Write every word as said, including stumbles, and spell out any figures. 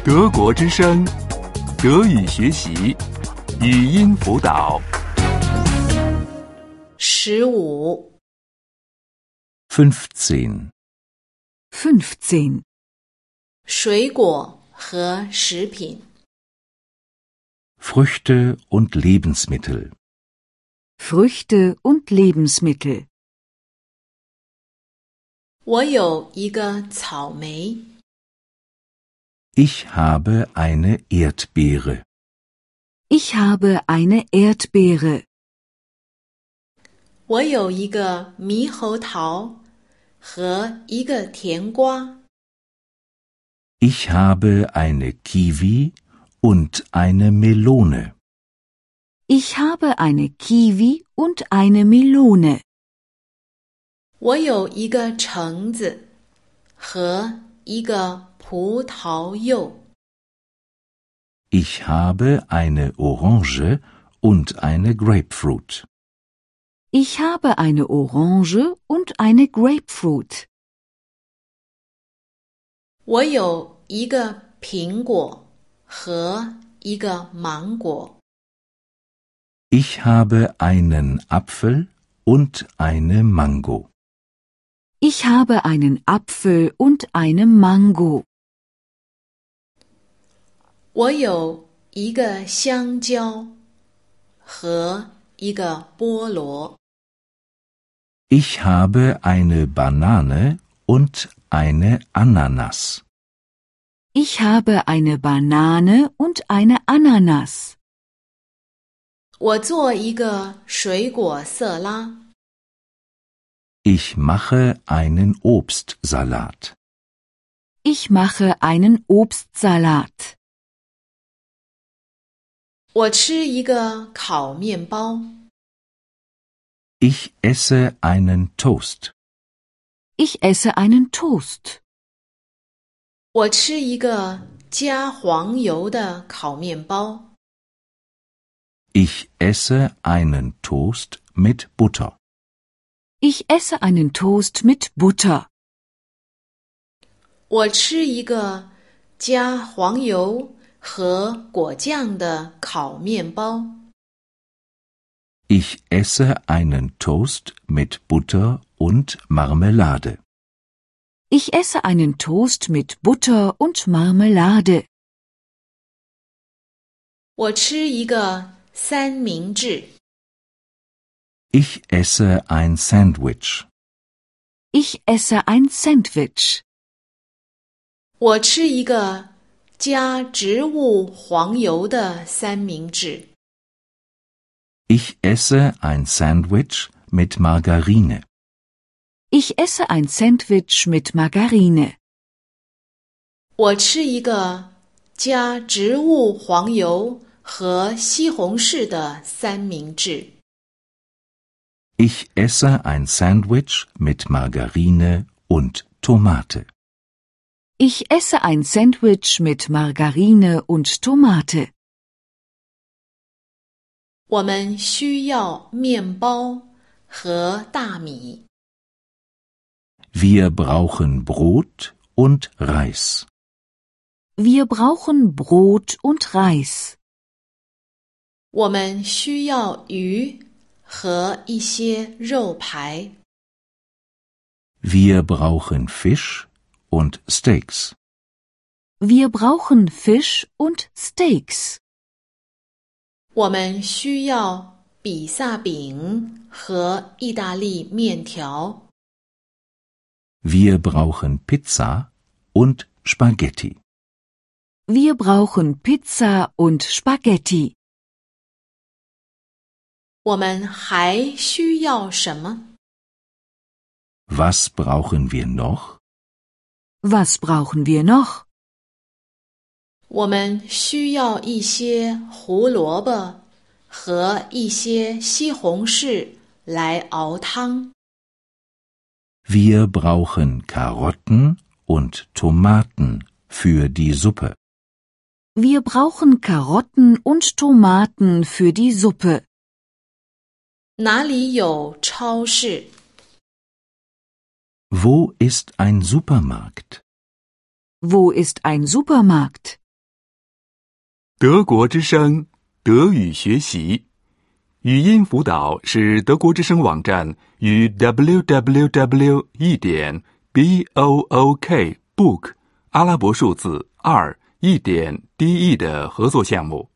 德国之声，德语学习，语音辅导。 十五。 fünfzehn fünfzehn 水果和食品。 Früchte und Lebensmittel. Früchte und Lebensmittel. 我有一个草莓。 Ich habe eine Erdbeere. Ich habe eine Erdbeere. 我有一个猕猴桃和一个甜瓜。 Ich habe eine Kiwi und eine Melone. Ich habe eine Kiwi und eine Melone. 我有一个橙子和一个葡萄柚。 Ich habe eine Orange und eine Grapefruit. Ich habe eine Orange und eine Grapefruit. 我有一个苹果和一个芒果。 Ich habe einen Apfel und eine Mango. Ich habe einen Apfel und eine Mango. 我有一个香蕉和一个菠萝。 Ich habe eine Banane und eine Ananas. Ich habe eine Banane und eine Ananas. 我做一个水果色拉。 Ich mache einen Obstsalat. Ich mache einen Obstsalat. 我吃一个烤面包。 Ich esse einen Toast. Ich esse einen Toast. 我吃一个加黄油的烤面包。 Ich esse einen Toast mit Butter. Ich esse einen Toast mit Butter. 我吃一个加黄油和果酱的烤面包。 Ich esse einen Toast mit Butter und Marmelade. Ich esse einen Toast mit Butter und Marmelade. 我吃一个三明治。 Ich esse ein Sandwich. Ich esse ein Sandwich. 我吃一个加植物黄油的三明治。 Ich esse ein Sandwich mit Margarine. Ich esse ein Sandwich mit Margarine. 我吃一个加植物黄油和西红柿的三明治。 Ich esse ein Sandwich mit Margarine und Tomate. Ich esse ein Sandwich mit Margarine und Tomate. 我们需要面包和大米。 Wir brauchen Brot und Reis. Wir brauchen Brot und Reis. 我们需要鱼和一些肉排。 Wir brauchen Fisch und Steaks. Wir brauchen Fisch und Steaks. 我们需要比萨饼和意大利面条。 Wir brauchen Pizza und Spaghetti. Wir brauchen Pizza und Spaghetti. 我们还需要什么？ Was brauchen wir noch? Was brauchen wir noch? 我们需要一些胡萝卜和一些西红柿来熬汤。 Wir brauchen Karotten und Tomaten für die Suppe. Wir brauchen Karotten und Tomaten für die Suppe. 哪里有超市？ Wo ist ein Supermarkt? Wo ist ein Supermarkt? 德国之声，德语学习，语音辅导是德国之声网站与 double-u double-u double-u 一点 b o o k book 阿拉伯数字二一点 d e 的合作项目。